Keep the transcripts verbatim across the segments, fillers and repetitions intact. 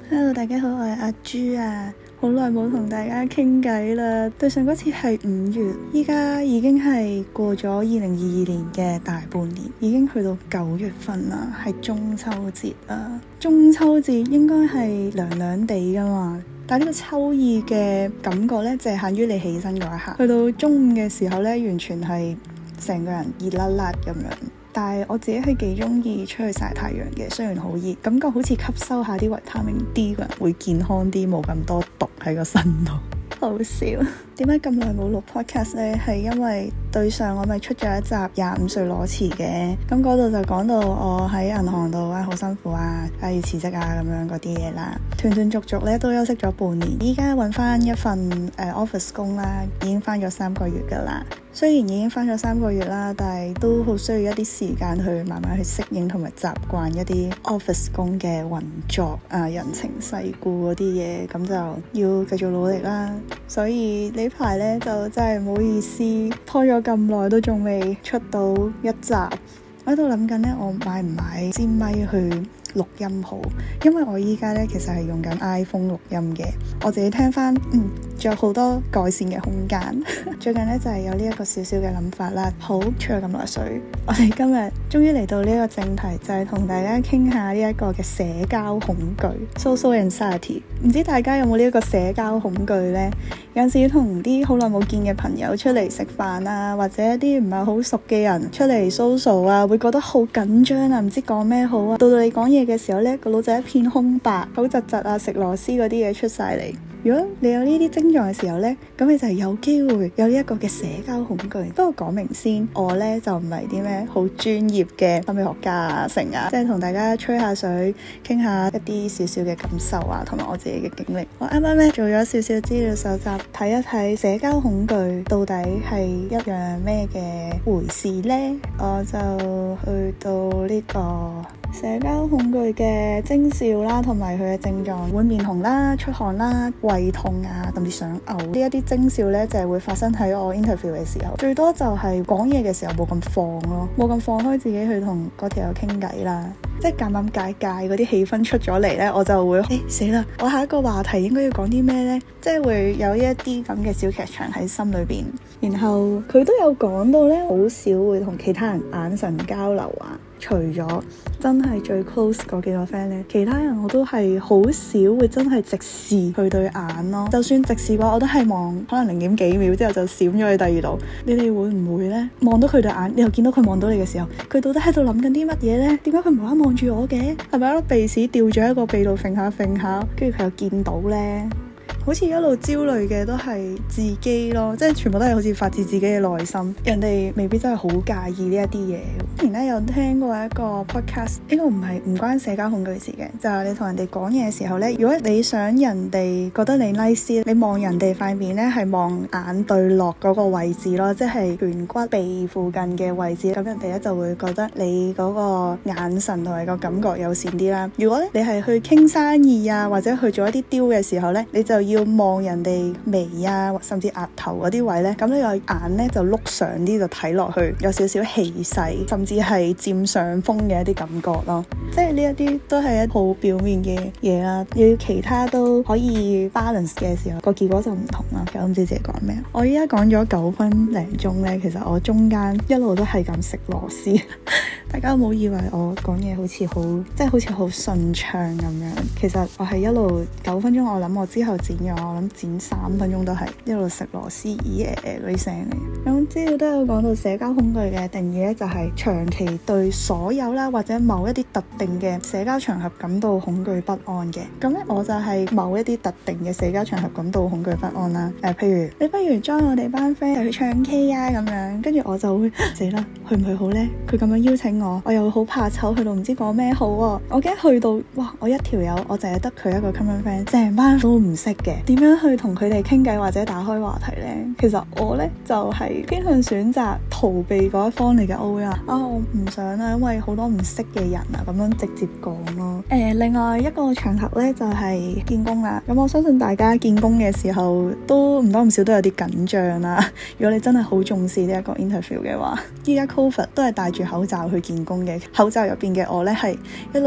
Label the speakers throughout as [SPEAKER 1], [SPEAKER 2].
[SPEAKER 1] Hello， 大家好，我係阿朱啊，好耐冇同大家傾偈啦。對上嗰次係五月，依家已經係過咗二零二二年嘅大半年，已經去到九月份啦，係中秋節啊。中秋節應該係涼涼地噶嘛，但係呢個秋意嘅感覺呢，就係限於你起身嗰一刻，去到中午嘅時候呢，完全係成個人熱辣辣咁樣。但係我自己係幾中意出去曬太陽嘅，雖然好熱，感覺好似吸收下啲維他命 D， 個人會健康啲，冇咁多毒喺個身度。好笑，點解咁耐冇錄 podcast 呢？係因為對上我咪出咗一集廿五歲裸辭嘅，咁嗰度就講到我喺銀行度啊好辛苦啊，啊要辭職啊咁樣嗰啲嘢啦，斷斷續續咧都休息咗半年，依家揾翻一份誒、呃、office 工啦，已經翻咗三個月噶啦。雖然已經翻咗三個月啦，但係都好需要一啲時間去慢慢去適應同埋習慣一啲 office 工嘅運作啊，人情世故嗰啲嘢，咁就要繼續努力啦。所以呢排呢，就真係唔好意思拖咗咁耐都仲未出到一集。我喺度諗緊呢，我買唔買支咪去錄音好？因為我依家呢，其實係用緊 iPhone 錄音嘅，我自己聽翻，嗯，仲有好多改善嘅空間。最近呢，就係、是、有呢一個小小嘅諗法啦。好，吹咗咁耐水，我哋今日終於嚟到呢一個正題，就係、是、同大家傾下呢一個嘅社交恐懼 （social anxiety）。唔知大家有冇呢一個社交恐懼呢？有陣時同啲好耐冇見嘅朋友出嚟食飯啊，或者一啲唔係好熟嘅人出嚟 social 啊，會覺得好緊張啊，唔知講咩好啊。到到你講嘢嘅時候呢，個腦仔一片空白，口窒窒啊，食螺絲嗰啲嘢出晒嚟。如果你有呢啲症狀嘅時候呢，咁你就係有機會有呢一個嘅社交恐懼。不過講明先，我呢就唔係啲咩好專業嘅心理學家啊，成啊，即係同大家吹下水，傾下一啲少少嘅感受啊，同埋我自己嘅經歷。我啱啱呢做咗少少資料搜集，睇一睇社交恐懼到底係一樣咩嘅回事呢？我就去到呢個社交恐懼嘅徵兆啦，同埋佢嘅症狀，會面紅啦、出汗啦、胃痛啊，甚至想嘔。呢一啲徵兆呢，就係會發生喺我 interview 嘅時候，最多就係講嘢嘅時候冇咁放咯，冇咁放開自己去同嗰條友傾偈啦。即係尷尷尬尬嗰啲氣氛出咗嚟呢，我就會誒死啦！我下一個話題應該要講啲咩呢？即係會有一啲咁嘅小劇場喺心裏邊。然後佢都有講到呢，好少會同其他人眼神交流啊。除咗真係最 close 嗰幾個 friend 呢，其他人我都係好少會真係直視佢對眼咯。就算直視嘅話，我都係望可能零點幾秒之後就閃咗去第二度。你哋會唔會呢？望到佢對眼，你又見到佢望到你嘅時候，佢到底喺度諗緊啲乜嘢呢？點解佢無啦啦望住我嘅？係咪一粒鼻屎掉咗喺個鼻度揈下揈下，跟住佢又見到呢？好似一路焦慮嘅都係自己咯，即係全部都係好似發自自己嘅內心，人哋未必真係好介意呢一啲嘢。之前咧有聽過一個 podcast， 呢個唔係唔關社交恐懼事嘅，就係、是、你同人哋講嘢嘅時候呢，如果你想人哋覺得你 nice， 你望人哋塊面呢係望眼對落嗰個位置咯，即係顴骨鼻附近嘅位置，咁人哋咧就會覺得你嗰個眼神同埋個感覺友善啲啦。如果你係去傾生意啊，或者去做一啲 deal 嘅時候呢，你就要望人哋眉啊，甚至額頭嗰啲位呢，咁你個眼呢就碌上啲，就睇落去有少少氣勢，甚至係佔上風嘅一啲感覺咯。即係呢一啲都係一好表面嘅嘢啦，要其他都可以 balance 嘅時候，個結果就唔同啦。我唔知自己講咩，我依家講咗九分零鐘呢，其實我中間一路都係咁食螺絲。大家有冇以為我講嘢好似好即係好似好順暢咁樣？其實我係一路九分鐘，我諗我之後剪咗，我諗剪三分鐘都係一路食螺絲咦誒誒嗰啲聲嚟。咁資料都有講到社交恐懼嘅定義咧，就係長期對所有啦或者某一啲特定嘅社交場合感到恐懼不安嘅。咁咧我就係某一啲特定嘅社交場合感到恐懼不安啦。誒、呃，譬如你不如 join 我哋班 friend 去唱 K 啊咁樣，跟住我就會死啦，去唔去好呢？佢咁樣邀請我，我又好怕醜，去到唔知講咩好啊！我驚去到，哇！我一條友，我淨係得佢一個 common friend，成班都唔識嘅，點樣去同佢哋傾偈或者打開話題呢？其實我呢，就係、是、偏向選擇逃避嗰一方嚟嘅。我會話啊，我唔想啊，因為好多唔識嘅人啊，咁樣直接講咯。誒、呃，另外一個場合呢，就係、是、見工啦。咁我相信大家見工嘅時候都唔多唔少都有啲緊張啦。如果你真係好重視呢一個 interview 嘅話，依家 COVID 都係戴住口罩去見工嘅，口罩入邊嘅我呢，係一路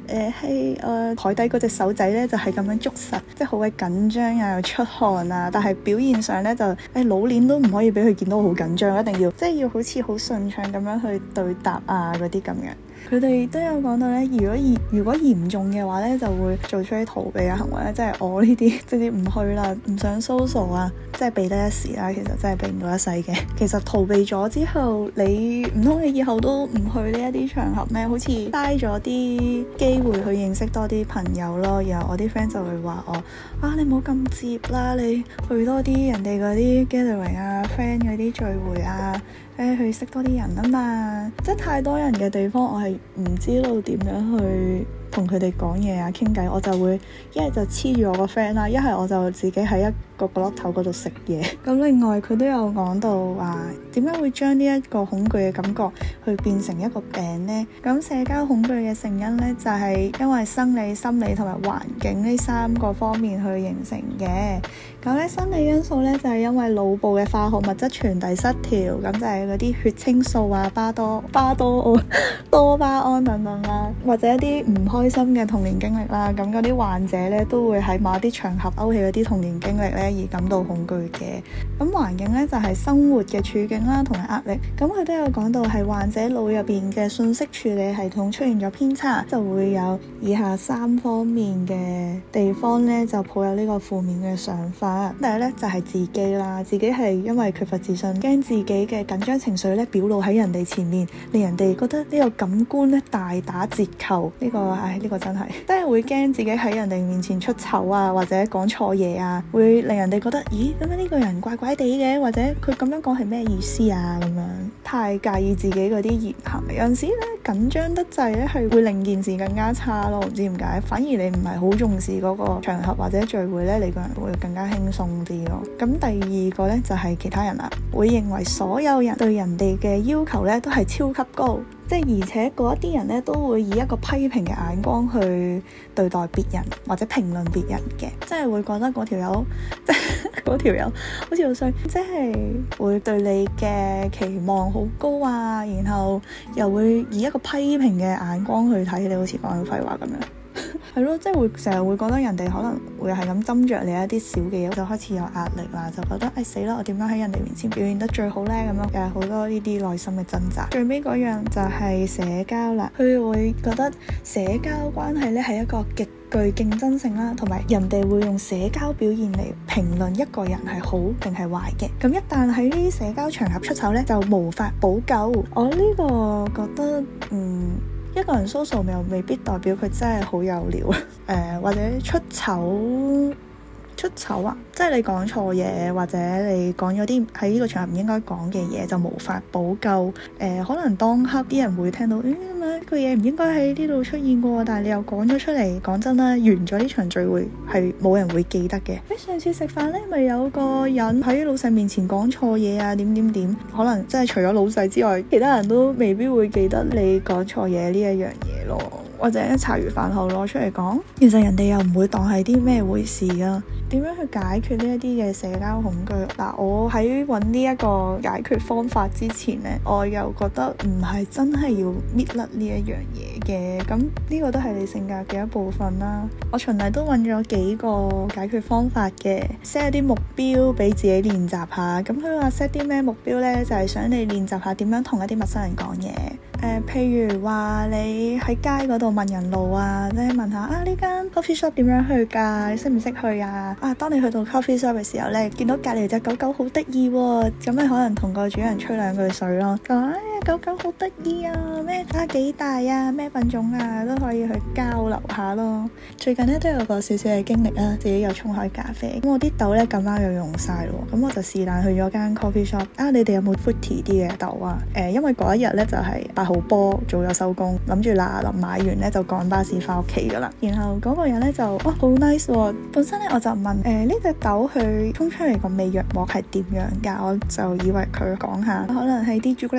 [SPEAKER 1] 誒係誒台底嗰隻手仔咧就係咁樣捉實，即係好鬼緊張啊，又出汗啊，但係表現上咧就誒老練都唔可以俾佢見到好緊張，一定要即係要好似好順暢咁樣去對答啊嗰啲咁樣。佢哋都有講到咧，如果嚴如果嚴重嘅話咧，就會做出啲逃避嘅行為咧，即係我呢啲直接唔去啦，唔想 social 啊，即係避得一時啦，其實真係避唔到一世嘅。其實逃避咗之後，你唔通你以後都唔去呢一啲場合咩？好似嘥咗啲機會去認識多啲朋友咯。然後我啲 friend 就會話我啊，你唔好咁接啦，你去多啲人哋嗰啲 gathering 啊 friend 嗰啲聚會啊，誒去識多啲人啊嘛。即係太多人嘅地方，我係唔知道點樣去同佢哋講嘢啊傾偈，我就會一係就黐住我個 friend 啦，一係我就自己喺一個角落頭嗰度食嘢。咁另外佢都有講到話點解會將呢一個恐懼嘅感覺去變成一個病呢？咁社交恐懼嘅成因呢，就係因為生理、心理同埋環境呢三個方面去形成嘅。咁咧生理因素咧就係因為腦部嘅化學物質傳遞失調，咁就係嗰啲血清素啊、巴多巴多多巴胺等等啦，或者一啲唔開心嘅童年經歷啦，咁嗰啲患者咧都會喺某一啲場合勾起嗰啲童年經歷咧而感到恐懼嘅。咁環境咧就係生活嘅處境啦，同埋壓力。咁佢都有講到係患者腦入邊嘅信息處理系統出現咗偏差，就會有以下三方面嘅地方咧就抱有呢個負面嘅想法。第一咧就係自己啦，自己係因為缺乏自信，驚自己嘅緊張情緒咧表露喺人哋前面，令人哋覺得呢個感官咧大打折扣。呢個唉，呢個真係真係會驚自己喺人哋面前出醜啊，或者講錯嘢啊，會令人哋覺得咦，咁樣呢個人怪怪地嘅，或者佢咁樣講係咩意思啊？咁樣太介意自己嗰啲言行，有陣時咧緊張得滯咧係會令件事更加差咯。唔知點解，反而你唔係好重視嗰個場合或者聚會咧，你個人會更加輕鬆啲咯。咁第二個咧就係其他人啦，會認為所有人對人哋嘅要求咧都係超級高，即係而且嗰一啲人咧都會以一個批評嘅眼光去對待別人或者評論別人嘅，即係會覺得嗰條友即係嗰條友好似好衰，即係會對你嘅期望好高啊，然後又會以一個批評嘅眼光去睇你，好似講緊廢話咁樣。係咯，即係會成日會覺得人哋可能會係咁斟酌你一啲小嘅嘢，就開始有壓力啦，就覺得誒死啦，我點樣喺人哋面前表現得最好呢？咁樣又係好多呢啲內心嘅掙扎。最尾嗰樣就係社交啦，佢會覺得社交關係呢係一個極具競爭性啦，同埋人哋會用社交表現嚟評論一個人係好定係壞嘅。咁一旦喺呢啲社交場合出醜呢，就無法補救。我呢個覺得嗯。一個人 social 又未必代表佢真係好有料，誒、呃、或者出醜出醜啊！即係你講錯嘢，或者你講咗啲喺呢個場合唔應該講嘅嘢，就無法補救。誒、呃，可能當刻啲人會聽到，誒咁樣個嘢唔應該喺呢度出現過，但係你又講咗出嚟。講真啦，完咗呢場聚會係冇人會記得嘅。誒，上次食飯咧，咪有個人喺老細面前講錯嘢啊，點點點，可能真係除咗老細之外，其他人都未必會記得你講錯嘢呢一樣嘢咯。或者茶餘飯後攞出嚟講，其實人哋又唔會當係啲咩回事啊。點樣去解決呢一啲嘅社交恐懼？嗱，我喺揾呢一個解決方法之前呢，我又覺得唔係真係要搣甩呢一樣嘢嘅。咁呢個都係你性格嘅一部分啦。我循例都揾咗幾個解決方法嘅 ，set 一啲目標俾自己練習下。咁佢話 set 啲咩目標呢？就係想你練習下點樣同一啲陌生人講嘢。誒、呃，譬如話你喺街嗰度問人路啊，即係問下啊呢間 coffee shop 點樣去㗎？你識唔識去啊？啊，當你去到 coffee shop 嘅時候咧，見到隔離隻狗狗好得意喎，咁你可能同個主人吹兩句水咯，講哎呀狗狗好得意啊，咩啊幾大啊，咩品種啊，都可以去交流下咯。最近咧都有個少少嘅經歷啦，自己又沖開咖啡，咁我啲豆咧咁啱又用晒咯，咁我就是但去咗間 coffee shop，啊你哋有冇 fruity 啲嘅豆啊？誒、呃，因為嗰一日咧就係、是、八號波早咗收工，諗住嗱臨買完咧就趕巴士翻屋企噶啦。然後嗰個人咧就哇好 nice 喎，本身咧我就問誒呢隻豆佢沖出嚟個味藥膜係點樣㗎？我就以為佢講下可能係啲朱古力味啊。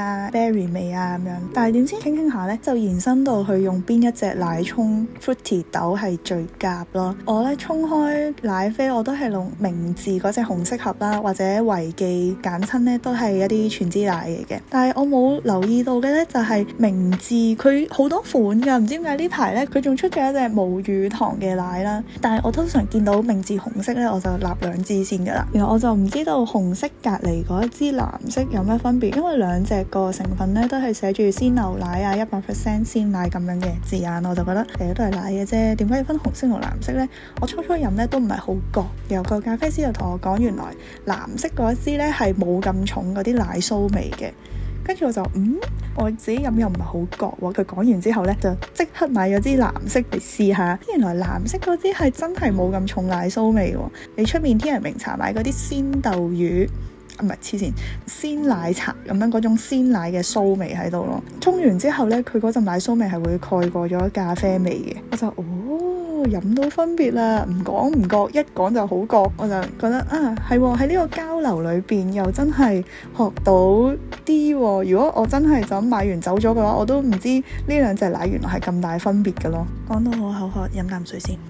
[SPEAKER 1] 啊、berry 味啊咁樣。但係點知傾傾下呢，就延伸到去用邊一隻奶沖 fruity 豆係最夾咯。我呢沖開奶啡我都係用明治嗰隻紅色盒啦，或者維記簡稱呢都係一啲全脂奶嚟嘅。但係我冇留意到嘅呢，就係明治佢好多款噶，唔知點解呢排呢，佢仲出咗一隻無乳糖嘅奶啦。但係我通常見到明治紅色呢，我就立兩支先噶啦。然後我就唔知道紅色隔離嗰一支藍色有咩分別，因為兩隻個成分呢都係寫住鮮牛奶啊、一百 percent 鮮奶咁樣嘅字眼，我就覺得誒都係奶嘅啫，點解要分紅色同藍色呢？我初初飲呢都唔係好覺，有個咖啡師就同我講，原來藍色嗰一支呢係冇咁重嗰啲奶酥味嘅。跟住我就嗯，我自己飲又唔係好覺喎。佢講完之後呢，就即刻買咗支藍色嚟試下。原來藍色嗰支係真係冇咁重奶酥味喎。你出面天人茗茶買嗰啲鮮豆乳，唔係黐線鮮奶茶咁樣嗰種鮮奶嘅酥味喺度咯。沖完之後呢，佢嗰陣奶酥味係會蓋過咗咖啡味嘅。我就哦。飲到分別啦，唔講唔覺，一講就好覺。我就覺得啊，係喺呢個交流裏邊又真係學到啲。如果我真係就咁買完走咗嘅話，我都唔知呢兩隻奶原來係咁大分別嘅咯。講到好口渴，飲啖水先。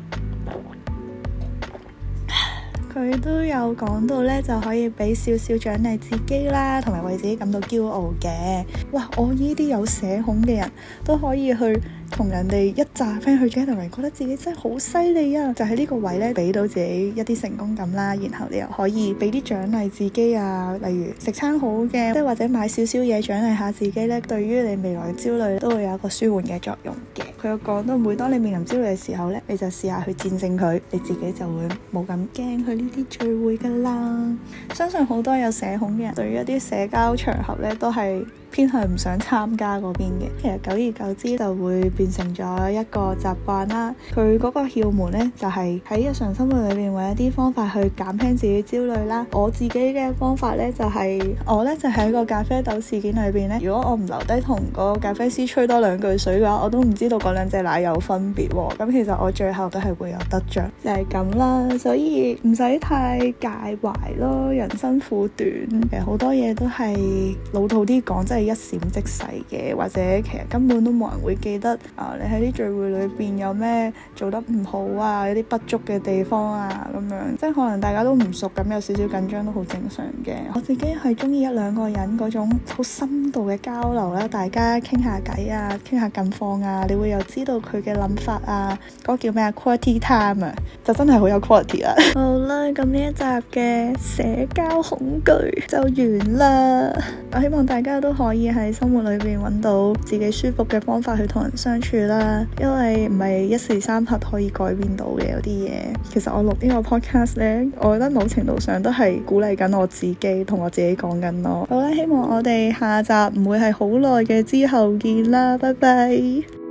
[SPEAKER 1] 佢都有講到呢，就可以俾少少獎勵自己啦，同埋為自己感到驕傲嘅。哇！我呢啲有社恐嘅人都可以去同人哋一紮 friend 去 gathering，覺得自己真係好犀利啊！就喺呢個位呢，俾到自己一啲成功感啦，然後你又可以俾啲獎勵自己啊，例如食餐好嘅，即係或者買少少嘢獎勵下自己呢，對於你未來嘅焦慮都會有一個舒緩嘅作用嘅。佢有講到，每當你面臨焦慮嘅時候呢，你就試下去戰勝佢，你自己就會冇咁驚去呢啲聚會噶啦。相信好多有社恐嘅人對於一啲社交場合呢，都係偏向唔想參加嗰邊嘅。其實久而久之就會變成咗一個習慣啦。佢嗰個竅門呢，就係喺日常生活裏面揾一啲方法去減輕自己焦慮啦。我自己嘅方法呢，就係我呢，就喺個咖啡豆事件裏邊呢，如果我唔留低同個咖啡師吹多兩句水嘅話，我都唔知道嗰兩隻奶有分別喎。咁其實我最後都係會有得着，就係咁啦。所以唔使太介懷咯，人生苦短，其實好多嘢都係老土啲講，真係一閃即逝嘅，或者其實根本都冇人會記得啊！你喺啲聚會裏邊有咩做得唔好啊，有啲不足嘅地方啊，咁樣即係可能大家都唔熟，咁有少少緊張都好正常嘅。我自己係中意一兩個人嗰種好深度嘅交流啦，大家傾下偈啊，傾下近況啊，你會又知道佢嘅諗法啊，嗰個叫咩啊 quality time 啊，就真係好有 quality 啦。好啦，咁呢一集嘅社交恐懼就完啦。我希望大家都可以喺生活裏邊揾到自己舒服嘅方法去同人相處啦，因為唔係一時三刻可以改變到嘅有啲嘢。其實我錄呢個 podcast 呢，我覺得某程度上都係鼓勵緊我自己，同我自己講緊咯。好啦，希望我哋下集唔會係好耐嘅之後見啦，拜拜。